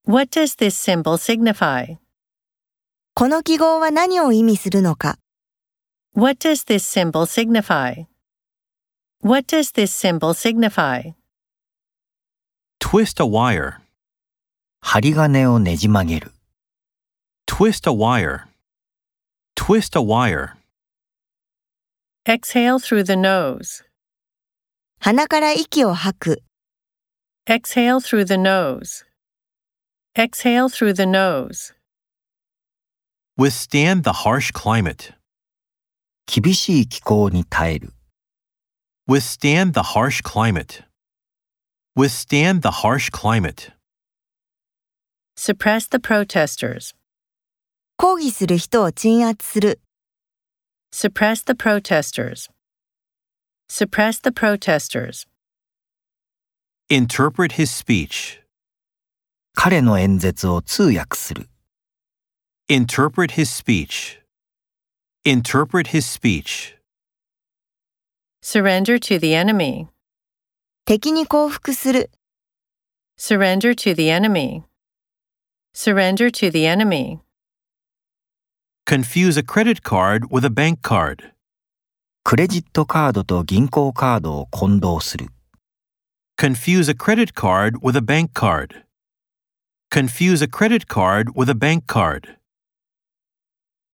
What does this symbol signify? この記号は何を意味するのか。 What does this symbol signify? What does this symbol signify? Twist a wire. 針金をねじ曲げる。 Twist a wire. Twist a wire. Exhale through the nose. 鼻から息を吐く。 Exhale through the nose. Exhale through the nose. Withstand the harsh climate. 厳しい気候に耐える。 Withstand the harsh climate. Withstand the harsh climate. Suppress the protesters. 抗議する人を鎮圧する。 Suppress the protesters. Suppress the protesters. Interpret his speech. 彼の演説を通訳する。 Interpret his speech. Interpret his speech. Surrender to the enemy. 敵に降伏する。 Surrender to the enemy. Surrender to the enemy. Confuse a credit card with a bank card. クレジットカードと銀行カードを混同する。 Confuse a credit card with a bank card. Confuse a credit card with a bank card.